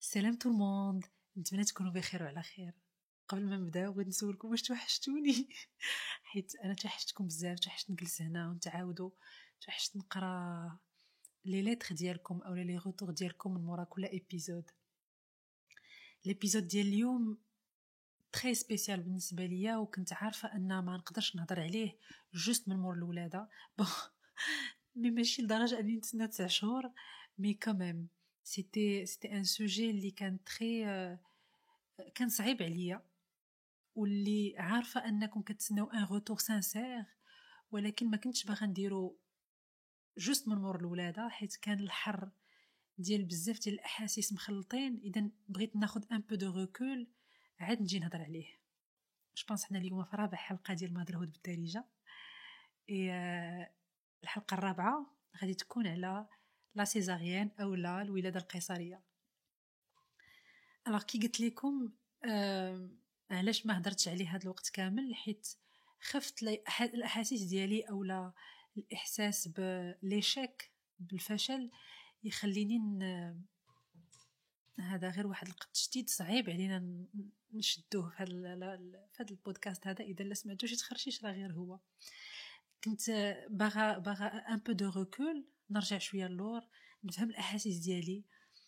سلام تو الموند، نتمنى تكونوا بخير وعلى خير. قبل ما نبداو بغيت نسولكم واش توحشتوني حيت انا توحشتكم بزاف، توحشت نجلس هنا ونتعاودوا، توحشت نقرا لي ليتر ديالكم او لي روتور ديالكم من مورا كل ايبيزود. ليبيزود ديال اليوم تري سبيسيال بالنسبه ليا، وكنت عارفه ان ما نقدرش نهضر عليه جوست من مور الولاده بون مي ماشي لدرجه اني نتسنى 9 شهور، مي كوميم سيتي ان سوجي اللي كان تري كان صعيب عليا، واللي عارفه انكم كتسناو ان روتور سانسير، ولكن ما كنتش باغا نديرو جوست من مور الولاده حيت كان الحر ديال بزاف ديال الاحاسيس مخلطين. اذا بغيت ناخذ ان بو دو ريكول عاد نجي نهضر عليه. جو بونس حنا اليوم في رابع حلقه ديال مهدرهود بالدارجه، الحلقه الرابعه غادي تكون على لا سيزاريان او لا الولاده القيصريه. الوغ كي قلت لكم علاش ما هضرتش عليه هذا الوقت كامل، حيت خفت الاحاسيس ديالي او لا الاحساس بليشيك بالفشل يخليني هذا غير واحد التشديد صعيب علينا نشدوه في هذا البودكاست هذا. اذا لا سمعتوش يتخرشيش راه غير هو. كنت باغا ان بو دو ريكول، نرجع شويه للور، نفهم الاحاسيس ديالي،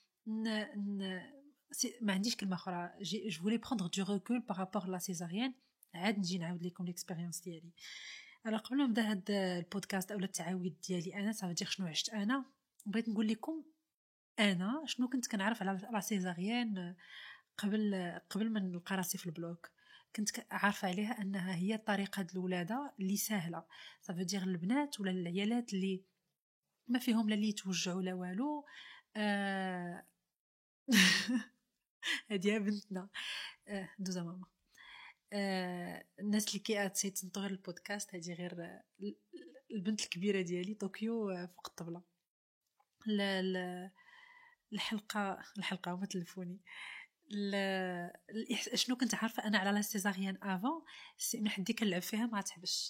ما عنديش كلمه اخرى. جو فولي بروندر دو ريكول بارابور لا سيزاريان، عاد نجي نعاود لكم ليكسبيريونس ديالي. انا قبل ما نبدا هذا البودكاست اولا التعاويد ديالي انا صافي شنو عشت انا، بغيت نقول لكم انا شنو كنت كنعرف على لا سيزاريان قبل ما نلقى راسي في البلوك. كنت عارفه عليها انها هي طريقه الولاده اللي سهله، صافي دير البنات ولا العيالات اللي ما فيهم لا اللي يتوجعوا لا والو. هادي بنتنا دوزا ماما. الناس اللي كيعطي تنطور البودكاست هادي غير البنت الكبيره ديالي طوكيو فوق الطبله. الحلقه هما تلفوني. شنو كنت عارفه انا على لا سيزاريان افون، من حدي كنلعب فيها ما تحبش.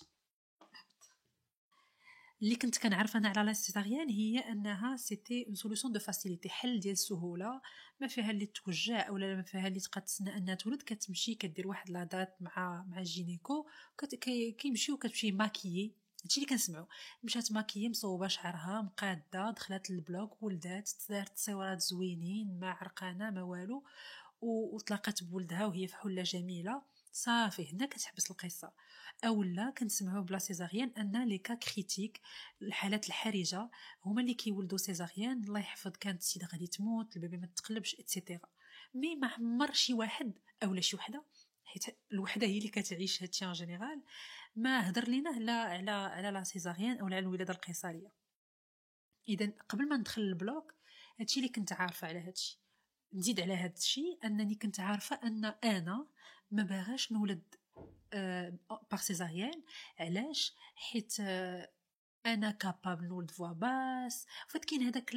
اللي كنت كنعرف انا على لا سيزاريان هي انها سيتي اون سوليوشن دو فاسيليتي، حل ديال السهوله، ما فيها اللي توجع اولا ما فيها اللي تبقى تسنى انها تولد. كتمشي كدير واحد لا دات مع الجينيكو، كيمشيو وكتمشي ماكيي. هادشي اللي كنسمعوا. مشات ماكيي مصوبه شعرها مقاده، دخلت للبلوك، ولدات، دارت تصويرات زوينين، ما عرقانه ما والو، وطلقت بولدها وهي فحوله جميله. صافي هنا كتحبس القصه. اولا كنسمعوا بلا سيزاريان ان لي كا كريتيك، الحالات الحرجه، هما اللي كيولدوا سيزاريان. الله يحفظ كانت السيده غادي تموت، البيبي ما تقلبش اتسيتيرا. مي ما عمر شي واحد اولا شي وحده، حيت الوحده هي اللي كتعيش هادشي ان جينيرال، ما هضر لينا لا على لا سيزاريان او على الولاده القيصريه. اذا قبل ما ندخل البلوك هادشي اللي كنت عارفه على هادشي. نزيد على هادشي انني كنت عارفه ان انا ما باغاش نولد بار سيزاريان. علاش؟ حيت انا كابابل نولد فوا باس. فات كاين هذاك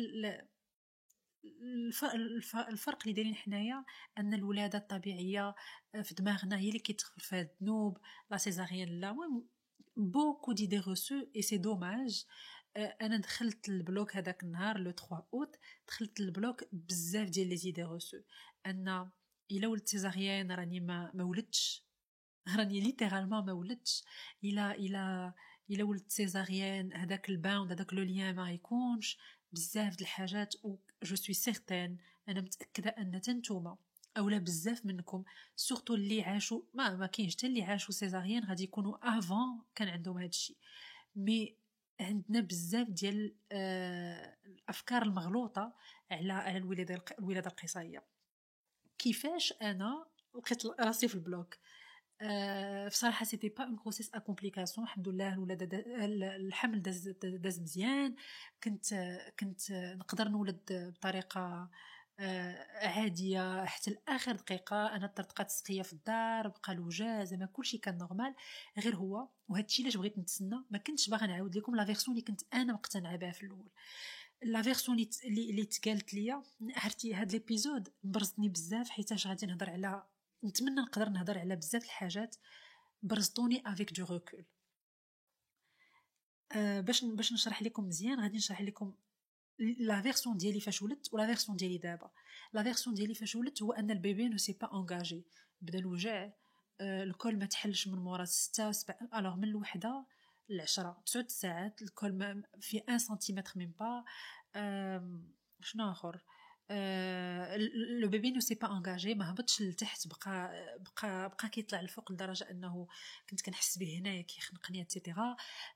الفرق اللي دايرين حنايا، ان الولاده الطبيعيه في دماغنا هي اللي كيتغفر فيها الذنوب، لا سيزاريان لا. المهم بوكو دي روسو اي سي دوماج. انا دخلت البلوك هذاك النهار لو 3 اوت، دخلت البلوك بزاف ديال لي زيدي روسو، ان الا ولدت سيزاريان راني ما ولدتش، راني ليترالمون ما ولدتش. الا ولدت سيزاريان هذاك الباوند، هذاك لو ليان ما يكونش. بزاف د الحاجات، و جو سوي سيغتان، انا متاكده ان تنتوما اولا بزاف منكم سورتو اللي عاشوا، ما كاينش حتى اللي عاشوا سيزاريان غادي يكونوا افون كان عندهم هذا الشيء. مي عندنا بزاف ديال الافكار المغلوطه على الولاده القيصريه. كيفاش انا لقيت راسي في البلوك؟ بصراحه سيتي با اون غروسيس ا كومبليكاسيون، الحمد لله. الولاده الحمل داز مزيان. كنت نقدر نولد بطريقه عاديه حتى لاخر دقيقه. انا طرطقات السقيه في الدار، بقى الوجا، زعما كلشي كان نورمال. غير هو وهادشي علاش بغيت نتسنى، ما كنتش باغا نعاود لكم لا فيرسون اللي كنت انا مقتنعه بها في الاول. لا فيرسون اللي تقالت ليا، عرفتي هاد ليبيزود برزتني بزاف، حيتاش غادي نهضر على، نتمنى نقدر نهضر على بزاف الحاجات برزطوني افيك دو ريكول. باش نشرح لكم مزيان، غادي نشرح لكم لا فيرسون ديالي فاش ولدت ولا فيرسون ديالي دابا. لا فيرسون ديالي فاش ولدت هو ان البيبي نو سي با انغاجي، بدا الوجع، الكل ما تحلش من مورا 6 7 الوغ من الوحده ل10 9 ساعات الكل في 1 سنتيمتر من با. شنو اخر؟ لو بيبي نو سي با انغاجي، ما هبطش لتحت، بقى كيطلع الفوق لدرجه انه كنت كنحس به هنايا كيخنقني اتسيتيرا.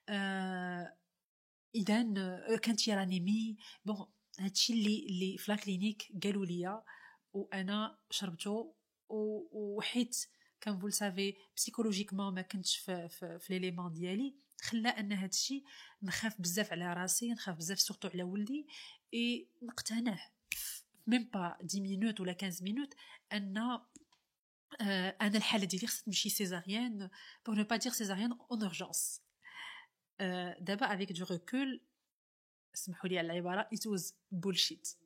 اذا كانت يرانيمي بون. هادشي اللي في لا كلينيك قالوا لي وانا شربته، وحيت كان فول سافي بسيكولوجيكمون ما كنتش في ليليمون ديالي، خلى ان هادشي نخاف بزاف على راسي، نخاف بزاف سورتو على ولدي، اي نقتنع ميم با 10 مينوت ولا 15 مينوت ان انا الحاله ديالي خصها تمشي سيزاريان بور نو با دير سيزاريان اون اورجونس. دابا افيك دو ريكول اسمحوا لي على العباره it was bullshit.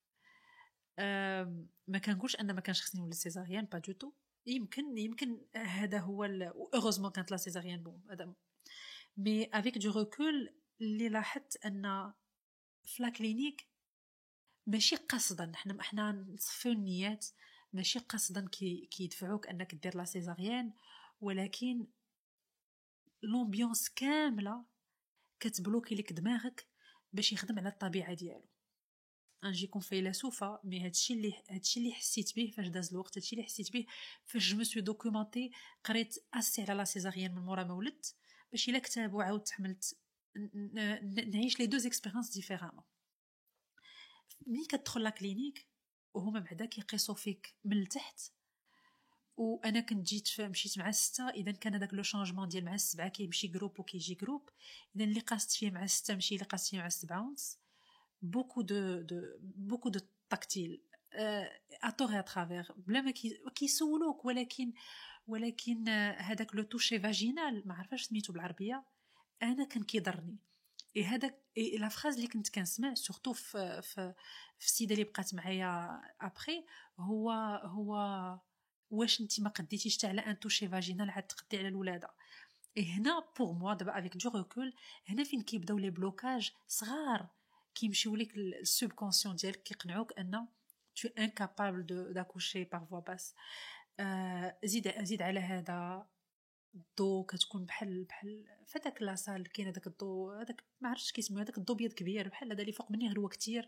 ما كنقولش ان ما كانش خصني نولد سيزاريان، با دو تو، يمكن هذا هو اوغوزمون كانت لا سيزاريان بون هذا. مي افيك دو ريكول اللي لاحظت ان في لا كلينيك ماشي قصدا، احنا نصفيو النيات، ماشي قصدا كيدفعوك انك دير لا سيزاريان، ولكن لومبيونس كامله كتبلوكي لك دماغك باش يخدم على الطبيعه ديالو. نجيكم فيلسوفه، مي هادشي اللي حسيت به فاش داز الوقت، هادشي اللي حسيت به فاش جو مسو دوكيومونتي، قريت اسي على لا سيزاريان من مورا ما ولدت، باش الا كتاب وعاود تحملت نعيش لي دو اكسبيريونس ديفيرامون. ملي كتدخل لا كلينيك وهما بعدا كيقيسوا فيك من التحت، وانا كنت مشيت مع 6، اذا كان هذاك لو شانجمون ديال مع 7 كيمشي جروب وكيجي جروب، اذا اللي قاست فيه مع 6 ماشي اللي قاست فيه مع 7 ونص. beaucoup de tactile à tort et à travers بلا ما كيسولوك، ولكن هذاك لو توشي فاجينال ما عرفاش سميتو بالعربيه، انا كان كيضرني. هذاك لا فراز اللي كنت كنسمع سورتو في السيده اللي بقات معايا ابري، هو واش انت ما قديتيش حتى على ان توشي فاجينال عاد تقدي على الولاده. هنا بور موا دابا افيك دو ريكول، هنا فين كيبداو لي بلوكاج صغار كيمشيو لك السوب كونسيون ديالك، كيقنعوك ان tu es incapable d'accoucher par voie basse. زيد على هذا الضو كتكون بحال فداك لاصال كاين هذاك الضو، هذاك ما عرفتش كيسميو، هذاك الضو بيض كبير بحال هذا اللي فوق مني غير هو كتير.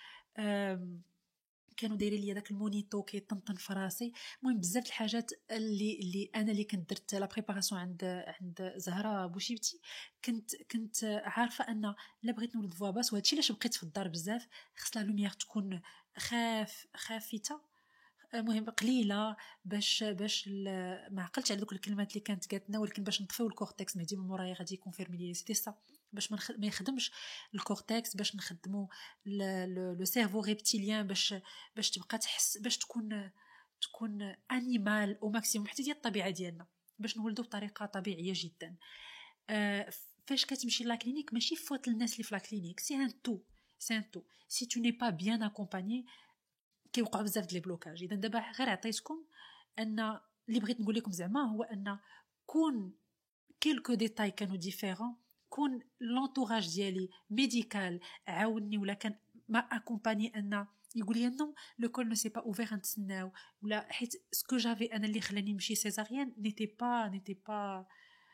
كانوا دايرين لي داك المونيتو كيطنطن في راسي. المهم بزاف الحاجات اللي كنت درت لا بريباراسيون عند زهره بوشيبتي، كنت عارفه ان لا بغيت نولد فوا باس، وهادشي علاش بقيت في الدار بزاف، خص لا لوميير تكون خافته، المهم قليله، باش ما عقلتش على دوك الكلمات اللي كانت قالتنا، ولكن باش نطفيو الكورتكس مهدي من مورايا غادي يكونفيرمي لي سيتي سا، باش ما يخدمش الكورتكس، باش نخدموا لو سيرفو ريبتيليان، باش تبقى تحس، باش تكون انيمال او ماكسيموم حتى ديال الطبيعه ديالنا، باش نولدوا بطريقه طبيعيه جدا. فاش كتمشي لا كلينيك ماشي فوت الناس اللي في لا كلينيك، سي ان تو سي تو ني با بيان اكومباني كيوقع بزاف ديال البلوكاج. اذا دابا غير عطيتكم ان اللي بغيت نقول لكم زعما هو ان كون كيلكو ديتاي كانوا ديفيرون، كون لونطوراج ديالي ميديكال عاونني ولا كان ما اكومباني ان يقول لي نو لو كول نو سي با اوفير نتسناو، ولا حيت سكو جافي انا اللي خلاني نمشي سيزاريان نيتي با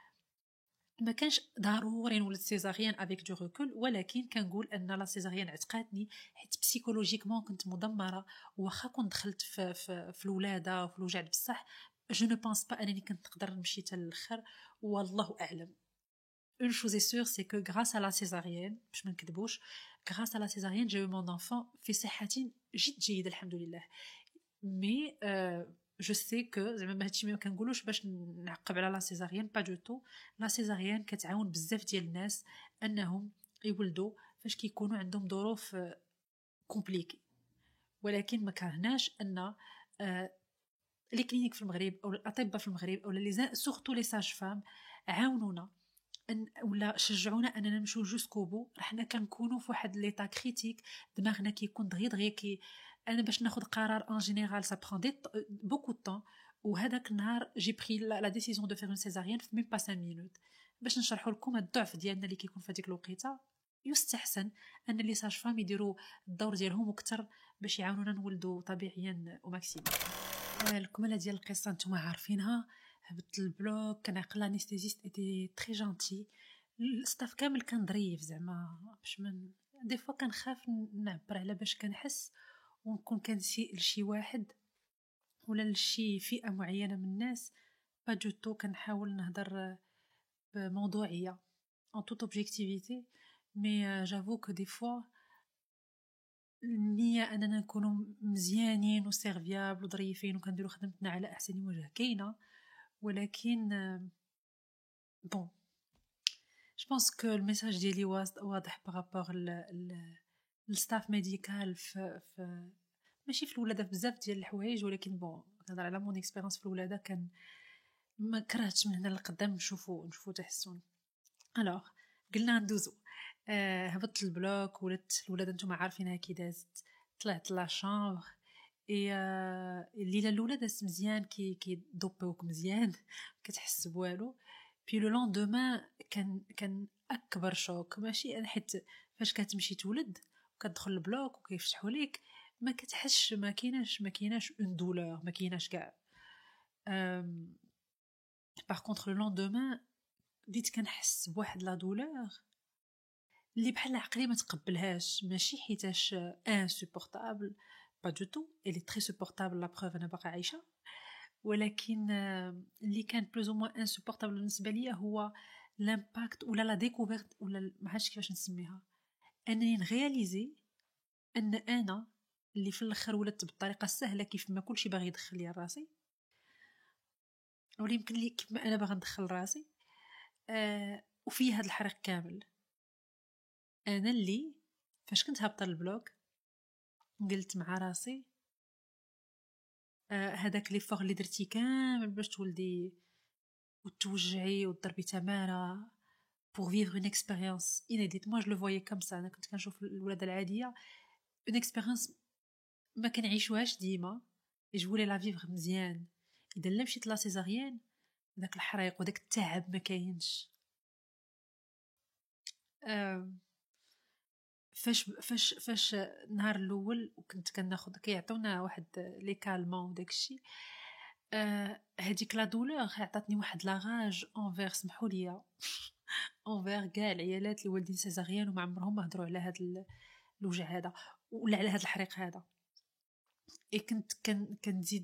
ما كانش ضروري نولد سيزاريان افيك دو ريكول، ولكن كنقول ان لا سيزاريان عتقاتني حيت بسيكولوجيكمون كنت مدمره، واخا كنت دخلت في الولاده وفي الوجع بصح جو نو بونس با انني كنت نقدر نمشي حتى الاخر، والله اعلم. une chose est sûre c'est que grâce à la césarienne باش ما نكذبوش، grâce à la césarienne j'ai eu mon enfant في صحه جد جيده الحمد لله. مي جو سي كو زعما هادشي ما كنقولوش باش نعقب على لا سيزاريان، با دو تو. لا سيزاريان كتعاون بزاف ديال الناس انهم يولدوا فاش كيكونوا عندهم ظروف كومبليكي، ولكن ما كرهناش ان لي كلينيك في المغرب او الاطباء في المغرب او لي سورتو لي ساج فام عاونونا ولا شجعونا اننا نمشيو جوسكو بو. حنا كنكونوا في واحد ليطا كريتيك، دماغنا كيكون دغيا انا باش ناخذ قرار ان جينيرال سا برون دي بوكو طون، وهذاك النهار جي بري لا ديسيزيون دو فير اون سيزاريان في ميم با 5 مينوت. باش نشرحوا لكم الضعف ديالنا اللي كيكون في هذيك الوقيته، يستحسن ان لي ساج فام يديروا الدور ديالهم اكثر باش يعاونونا نولدوا طبيعيا وماكسيموم. الكماله ديال القصه نتوما عارفينها. هبطت البلوك، كنعقل لانستيزيست ايتي تري جونتي، الستاف كامل كان ظريف زعما باش من دي فوا كنخاف نعبر على باش كنحس ونكون كنسيء لشي واحد ولا لشي فئه معينه من الناس. با دو تو كنحاول نهضر بموضوعيه en toute objectivité. مي جافو كو دي فوا النية اننا نكونوا مزيانين وسيرفيابل وظريفين وكنديروا خدمتنا على احسن وجه كاينه، ولكن بون جو بونس كو الميساج ديالي واضح بارابور الستاف ميديكال في ماشي في الولاده بزاف ديال الحوايج، ولكن بون نهضر على مون اكسبيريونس في الولاده. كان ما كرهتش من هنا للقدام نشوفوا تحسن. الوغ قلنا ندوزو. هبطت البلوك، ولات الولاده نتوما عارفينها كي دازت. طلعت لا شامبر اي الليله الاولى دازت مزيان، كي دوبوك مزيان كتحس بوالو. بي لو لوندومان كان اكبر شوك. ماشي انا حيت فاش كتمشي تولد وكتدخل البلوك وكيفتحوا ليك ما كتحسش، ما كايناش اون دولور، ما كايناش كاع. باغ كونطخ لو لوندومان بديت كنحس بواحد لا دولور اللي بحال عقلي ما تقبلهاش. ماشي حيتاش انسوبورطابل، با دو تو، اللي تري سوبورطابل لا بروف انا باقا عايشه، ولكن اللي كان بلوز او موان انسوبورطابل بالنسبه ليا هو لامباكت ولا لا ديكوفيرت ولا ما عرفتش كيفاش نسميها، انني نغياليزي ان انا اللي في الاخر ولدت بالطريقه السهله كيف ما كلشي باغي يدخل لي راسي، ولا يمكن لي كيف ما انا باغا ندخل راسي. وفي هذا الحريق كامل انا اللي فاش كنت هابطه البلوك قلت مع راسي هذاك لي فور اللي درتي كامل باش تولدي وتوجعي وتضربي تماره pour vivre une expérience inédite. moi je le voyais comme ça. انا كنت كنشوف الولاده العاديه une expérience ما كنعيشوهاش ديما، يجولي لا فيفر مزيان. اذا لا مشيت لا سيزاريان داك الحريق وداك التعب ما كاينش. فاش النهار الاول وكنت كناخذ كيعطونا واحد لي كالمون وداكشي، هذيك لا دولور عطاتني واحد لاغاج اونفير، سمحوا لي اونفير كاع العيالات اللي والدين سيزاريان وما عمرهم ما هضروا على هذا الوجع هذا ولا على هذا الحريق هذا. اي كنت كنزيد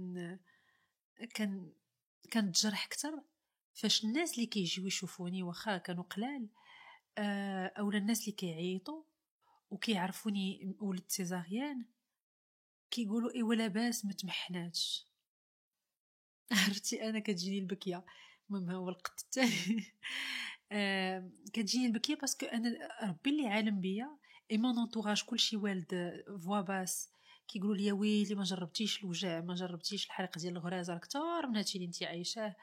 كنتجرح اكثر فاش الناس اللي كيجيو يشوفوني واخا كانوا قلال، اولا الناس اللي كيعيطوا وكيعرفوني ولدت سيزاريان كيقولوا ايوا لاباس ما تمحناتش. عرفتي انا كتجيني البكيه. المهم هو القط الثاني كتجيني البكيه باسكو انا ربي اللي عالم بيا اي مون انطوراج كلشي والد فوا باس كيقولوا لي ويلي ما جربتيش الوجع، ما جربتيش الحريق ديال الغرازه اكثر من هادشي اللي انت عايشاه.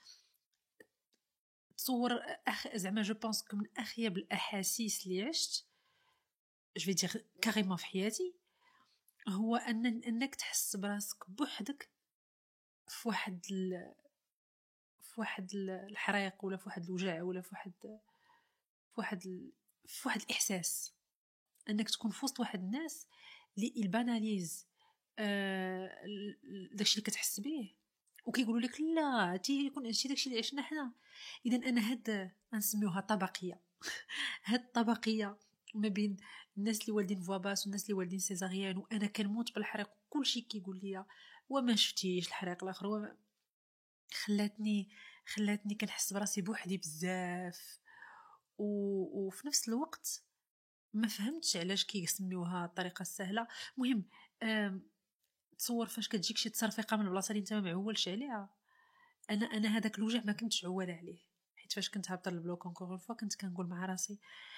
تصور زعما جو بونس من اخيب الاحاسيس اللي عشت جو في دير كاريمون في حياتي هو انك تحس براسك بوحدك في واحد الحريق ولا في واحد الوجع ولا في واحد الاحساس انك تكون في وسط واحد الناس اللي الباناليز داكشي اللي كتحس به وكيقولوا لك لا تي يكون هادشي داكشي اللي عشنا حنا. اذا انا هاد نسميوها طبقيه هاد الطبقيه ما بين الناس اللي والدين فواباس والناس اللي والدين سيزاريان، وانا كنموت بالحريق وكلشي كيقول لي وما شفتيش الحريق الاخر، خلاتني كنحس براسي بوحدي بزاف. وفي نفس الوقت ما فهمتش علاش كيسميوها الطريقه السهله. مهم تصور فاش كتجيك شي تصرفيقه من البلاصه اللي انت ما معولش عليها. انا هذاك الوجع ما كنتش عوال عليه، حيت فاش كنت هابطه البلوك اونكور فوا كنت كنقول مع راسي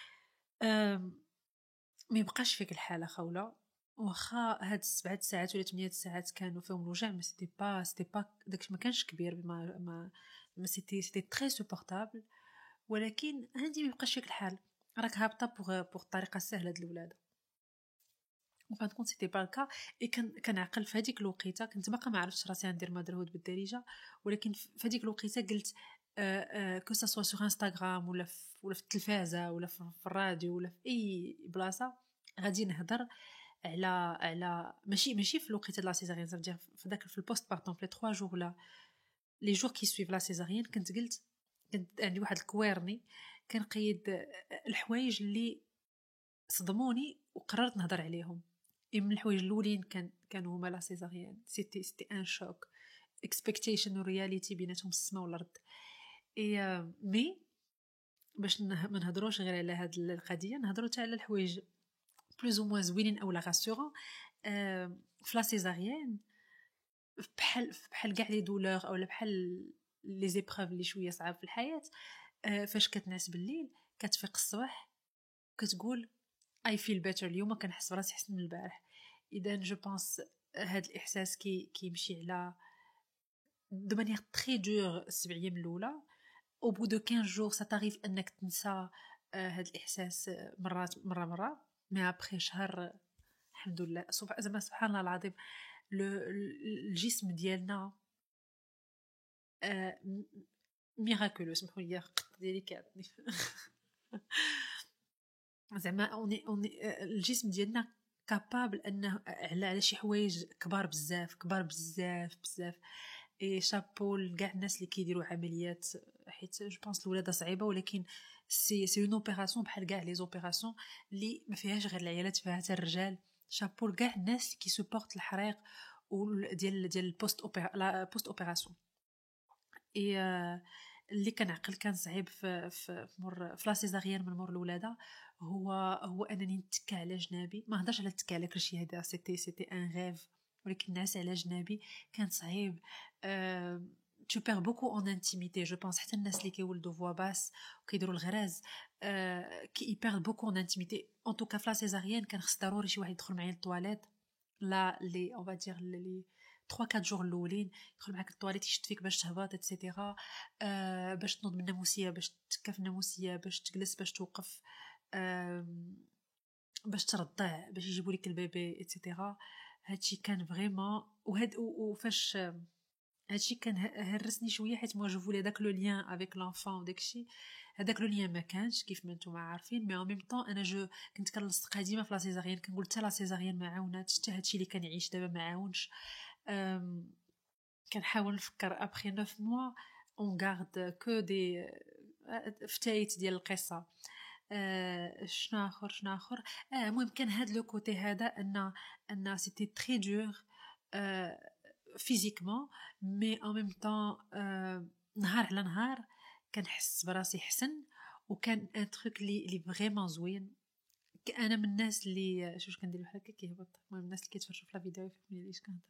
ما يبقاش فيك الحاله خوله، واخا هاد 7 ساعات ولا 8 ساعات كانوا فيهم الوجع ما سيتي با داكشي ما كانش كبير ما سيتي تري سوبورطابل، ولكن عندي ما يبقاش فيك الحال، راك هابطه بوغ الطريقه السهله د الولاده. وفان كونت سيتي با الكا. اي كنعقل في هذيك الوقيته كنت باقا ما عرفتش راسي غندير مادرهود بالدارجه، ولكن في هذيك الوقيته قلت كو سوا سور انستغرام ولا في التلفازه ولا في الراديو ولا في اي بلاصه غادي نهضر على ماشي في الوقت ديال لا سيزاريان، زعما في داك في البوست بارتون في 3 جور لا لي جور كي سويف لا سيزاريان كنت عندي واحد الكويرني كنقيد الحوايج اللي صدموني وقررت نهضر عليهم. من الحوايج الاولين كانوا هما لا سيزاريان، سيتي ان شوك، اكسبكتيشن ورياليتي بيناتهم السما والارض. اي مي باش ما نهضروش غير على هاد القضيه، نهضروا حتى على الحوايج بلوز او موان زوينين او لا غاسورون. في لا سيزاريان بحال كاع لي دولور او بحال لي زيبروف اللي شويه صعاب في الحياه، فاش كتنعس بالليل كتفيق الصباح كتقول اي فيل بيتر، اليوم كنحس براسي احسن من البارح. اذا جو بونس هاد الاحساس كيمشي على دو مانيير تري دور 7 ايام الاولى. او بو دو 15 جور سا تاريف انك تنسى هاد الاحساس مره مي ابري شهر الحمد لله زعما سبحان الله العظيم الجسم ديالنا ميراكولو، سمحوا لي ديالي كيعطني زعما اوني الجسم ديالنا كابابل انه على شي حوايج كبار بزاف اي شابو لكاع الناس اللي كيديروا عمليات، حيت جو بونس الولاده صعيبه، ولكن سي اون اوبيراسيون بحال كاع لي اوبيراسيون اللي ما فيهاش غير العيالات، فيها حتى الرجال. شابو لكاع الناس اللي كيسوبورت الحريق ديال البوست اوبيراسيون. اي اللي كنعقل كان صعيب في لا سيزاريان من مور الولاده هو انني نتكى على جنابي، ما هضرش على التكى على كلشي، هذا سيتي ان غيف، ولكن نعس على جنابي كان صعيب. tu perds beaucoup en intimité. Je pense حتى الناس اللي كيولدوا فوا باس وكيديروا الغراز كي يبيرد بوكو en intimité. en tout cas في لا سيزاريان كان خص ضروري شي واحد يدخل معايا للطواليت، لا لي اون فادير لي 3 4 جور الاولين يدخل معاك للطواليت يشد فيك باش تهبط اتسيتيرا، باش تنوض من الناموسيه، باش تكا في الناموسيه، باش تجلس، باش توقف، باش ترضع، باش يجيبوا لك البيبي اتسيتيرا. هادشي كان فريمون وفاش هادشي كان هرسني شويه، حيت مو جو فولي داك لو لين افيك لونفون وداكشي، هذاك لو لين ما كانش كيف ما نتوما عارفين. مي ان ميم طون انا جو كنت كنلصق قديمه في لا سيزاريان، كنقول حتى لا سيزاريان ما عاوناتش، حتى هادشي اللي كنعيش دابا ما عاونش. كنحاول نفكر ابخي 9 موا اون غارد كو دي فتايت ديال القصه. شنو اخر المهم كان هاد لو كوتي هذا ان سيتي تري دور فيزيكمون، مي ان ميم طون نهار على نهار كنحس براسي حسن، وكان ان تروك لي فريمون زوين. انا من الناس اللي شوف كندير بحال هكا كيهبط، المهم الناس اللي كيتفرجوا في لا فيديو يفهموا ليش كنهضر.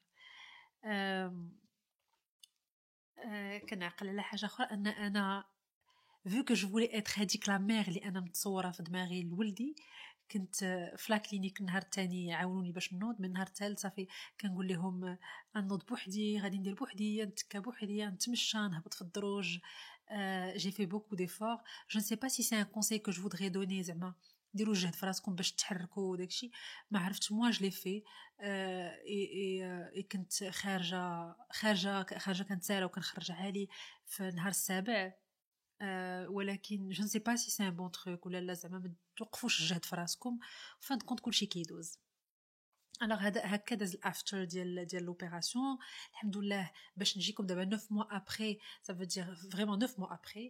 كنعقل على حاجه اخرى، ان انا vu que je voulais être هذيك لا مير اللي انا متصوره في دماغي لولدي، كنت في لا كلينيك النهار الثاني عاونوني باش نوض، من النهار الثالث صافي كنقول لهم نوض بوحدي، غادي ندير بوحدي، نتكا بوحدي، نتمشى، نهبط في الدروج. j'ai fait beaucoup d'efforts. je ne sais pas si c'est un conseil que je voudrais donner، زعما ديروا جهد في راسكم باش تحركوا وداكشي، ما عرفتش. موا جو لي في اي كنت خارجه كنت سايره وكنخرج عالي في النهار السابع. ولكن جو نسي با سي سي ان بون تروك ولا لا، زعما ما توقفوش الجهد في راسكم، فان كونت كلشي كيدوز. الوغ هكا داز الافتر ديال لوبيراسيون الحمد لله. باش نجيكم دابا 9 موا ابري، ça veut dire vraiment 9 mois après.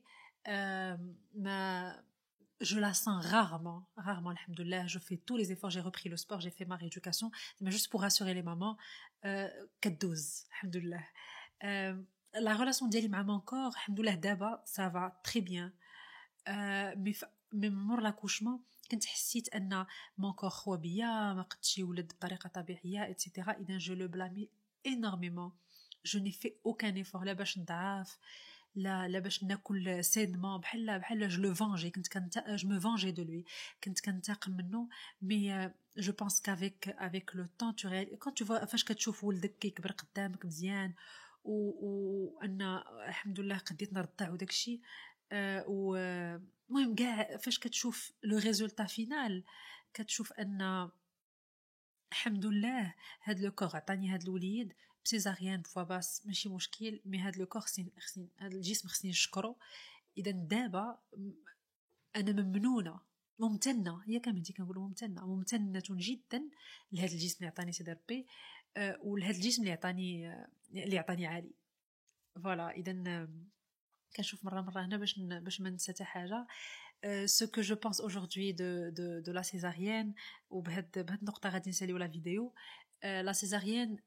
ما je la sens rarement alhamdoulilah. Je fais tous les efforts, j'ai repris le sport, j'ai fait ma rééducation, mais juste pour rassurer les mamans كدوز alhamdoulilah. la relation ديالي مع mon corps alhamdoulilah دابا ça va très bien. mais مور l'accouchement كنت حسيت ان mon corps خوا بيا، ما قدش يولد بطريقه طبيعيه etc. اذا je le blâme énormément. je n'ai fait aucun effort لا باش نضعف لا باش ناكل سيدمون بحال جو لو فونجي، كنت جو مو فونجي دو لوي، كنت كنتاقم منه. مي جو بونس كافيك لو طون تو ريال كون تو فوا فاش كتشوف ولدك كيكبر قدامك مزيان وان الحمد لله قديت نرضع وداكشي. المهم كاع فاش كتشوف لو ريزولتا فينال كتشوف ان الحمد لله هاد لو كور عطاني هاد الوليد بسيزاريان بفوا باس ماشي مشكل، مي هاد لو كور خصني هاد الجسم خصني نشكرو. اذا دابا انا ممنونه ممتنه، هي كامل دي كنقولوا ممتنه جدا لهذا الجسم اللي عطاني سيدي ربي، ولهذا الجسم اللي عطاني علي. فوالا اذا كنشوف مره هنا باش ما ننسى حتى حاجه. ce que je pense aujourd'hui de la césarienne وبهاد النقطه غادي نساليو لا فيديو. لا césarienne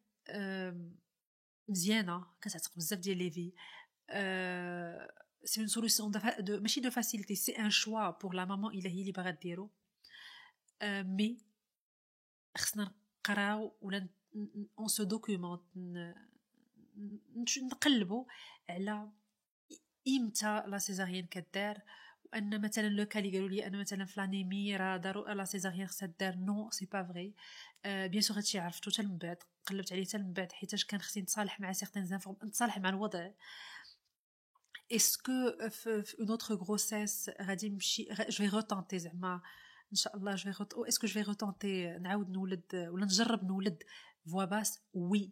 مزيانه كتعتق بزاف ديال لي في. سي اون سوليوشن ماشي دو فاسيليتي، سي ان شوا بور لا مامون الا هي اللي باغا ديرو. مي خصنا نقراو ولا اون سو دوكيومونت نقلبوا على امتى لا سيزاريان كدار، وان مثلا لو كالي قالوا لي انا مثلا فلانيمي راه داروا لا سيزاريان خصها دار. نو سي با فري. بيان سور هادشي عرفتو حتى من بعد، قلبت عليه حتى من بعد حيتاش كان خصني نتصالح مع سيغتان زانفورم، نتصالح مع الوضع. اسكو في اون اوتر غروسيس غادي نمشي جو في روتونتي زعما ان شاء الله جو في اسكو جو في روتونتي نعاود نولد ولا نجرب نولد فوا باس؟ وي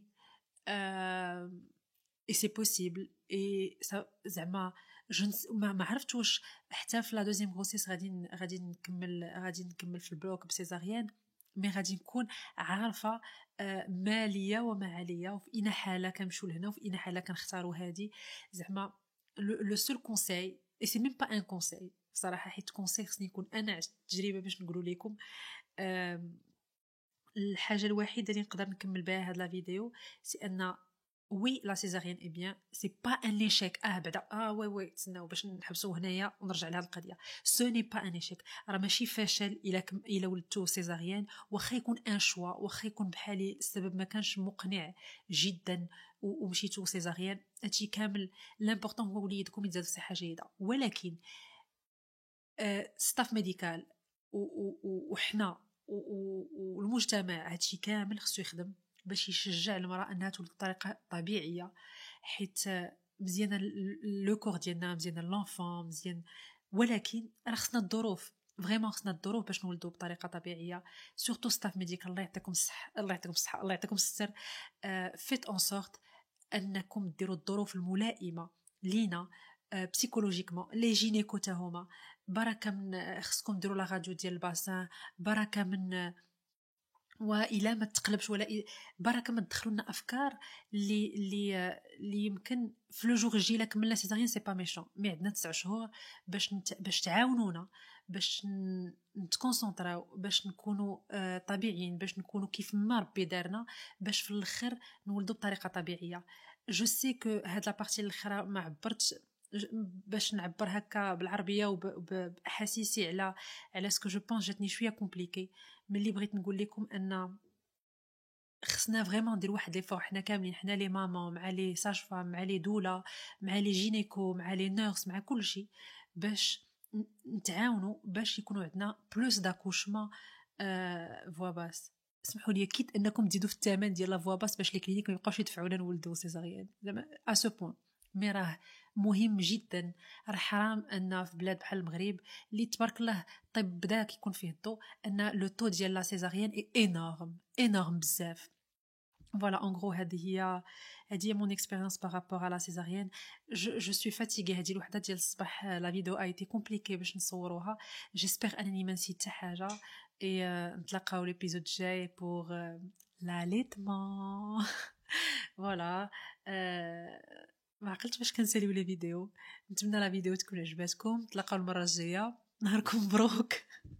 اي سي بوسيبل. اي زعما ما عرفت واش حتى في لا دوزيام غروسيس غادي نكمل في البلوك بسيزاريان، مي غادي نكون عارفه ما ليا وما عليا، وفي اي حاله كنمشيو لهنا وفي اي حاله كنختاروا هذه. زعما لو سول كونساي، اي سي ميم با ان كونساي بصراحه، حيت كونساي خصني يكون انا عشت التجربه باش نقولوا لكم. الحاجه الوحيده اللي نقدر نكمل بها هاد لا فيديو سي ان وي لا سيزاريان اي بيان سي با ان ايشيك. بعدا وي تسناو باش نحبسوا هنايا ونرجع لهاد القضيه. سو ني با ان ايشيك، راه ماشي فشل الا ولدتو سيزاريان، واخا يكون ان شوا، واخا يكون بحالي السبب ما كانش مقنع جدا ومشيتو سيزاريان، هادشي كامل لامبورطون هو وليدكم يتزاد في صحه جيده. ولكن ستاف ميديكال وحنا والمجتمع هادشي كامل خصو يخدم باش يشجع المراه انها تولد بطريقه طبيعيه، حيت مزيانه لو كور ديالنا، مزيانه لونفون، مزيان. ولكن راه خصنا الظروف، فريمون خصنا الظروف باش نولدوا بطريقه طبيعيه. سورتو ستاف ميديكال الله يعطيكم الصحه، الله يعطيكم الصحه، الله يعطيكم الستر. فيت اون سورت انكم ديروا الظروف الملائمه لينا بسيكولوجيكمون. لي جينيكو تا هما بركه من خصكم ديروا لا راديو ديال الباسان، بركه من والى ما تقلبش ولا بركه ما تدخلوا لنا افكار اللي يمكن في لو جور يجي لك من لا سيزاريان. سي با ميشون، مي عندنا 9 شهور باش تعاونونا، باش نتكونسونطراو، باش نكونوا طبيعيين، باش نكونوا كيف ما ربي دارنا، باش في الاخر نولدوا بطريقه طبيعيه. جو سي كو هاد لا بارتي الاخرى ما عبرتش باش نعبر هكا بالعربيه وباحاسيسي على سكو جو بونس. جاتني شويه كومبليكي. ملي بغيت نقول لكم ان خصنا فريمون ندير واحد لي فور، حنا كاملين، حنا لي مامون مع لي ساج فام مع لي دولا مع لي جينيكو مع لي نيرس مع كل شيء، باش نتعاونوا باش يكونوا عندنا بلوس داكوشمون فوا باس. اسمحوا لي كيت انكم تزيدوا في الثمن ديال لا فوا باس باش لي كلينيك ما يبقاوش يدفعوا لنا نولدوا سيزاريان زعما ا سو بوين. مي راه مهم جدا، راه حرام ان في بلاد بحال المغرب اللي تبارك الله الطب بدا كيكون فيه الضوء، ان لو طو ديال لا سيزاريان اي انورم بزاف. فوالا ان غرو هذه هي مون اكسبيريونس بارابور على سيزاريان. جو سوي فاتيغي. هذه الوحده ديال الصباح لا فيديو ايتي كومبليكي باش نصوروها. جيسبر انني ما نسيت حتى حاجه. اي نتلاقاو ليبيزود جاي بور لاليتمون. فوالا ما عقلتش باش كنساليو لي فيديو. نتمنى لا فيديو تكون عجباتكم. نتلاقاو المره الجايه. نهاركم مبروك.